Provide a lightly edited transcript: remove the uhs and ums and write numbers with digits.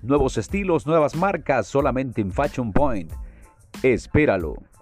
Nuevos estilos, nuevas marcas, solamente en Fashion Point. Espéralo.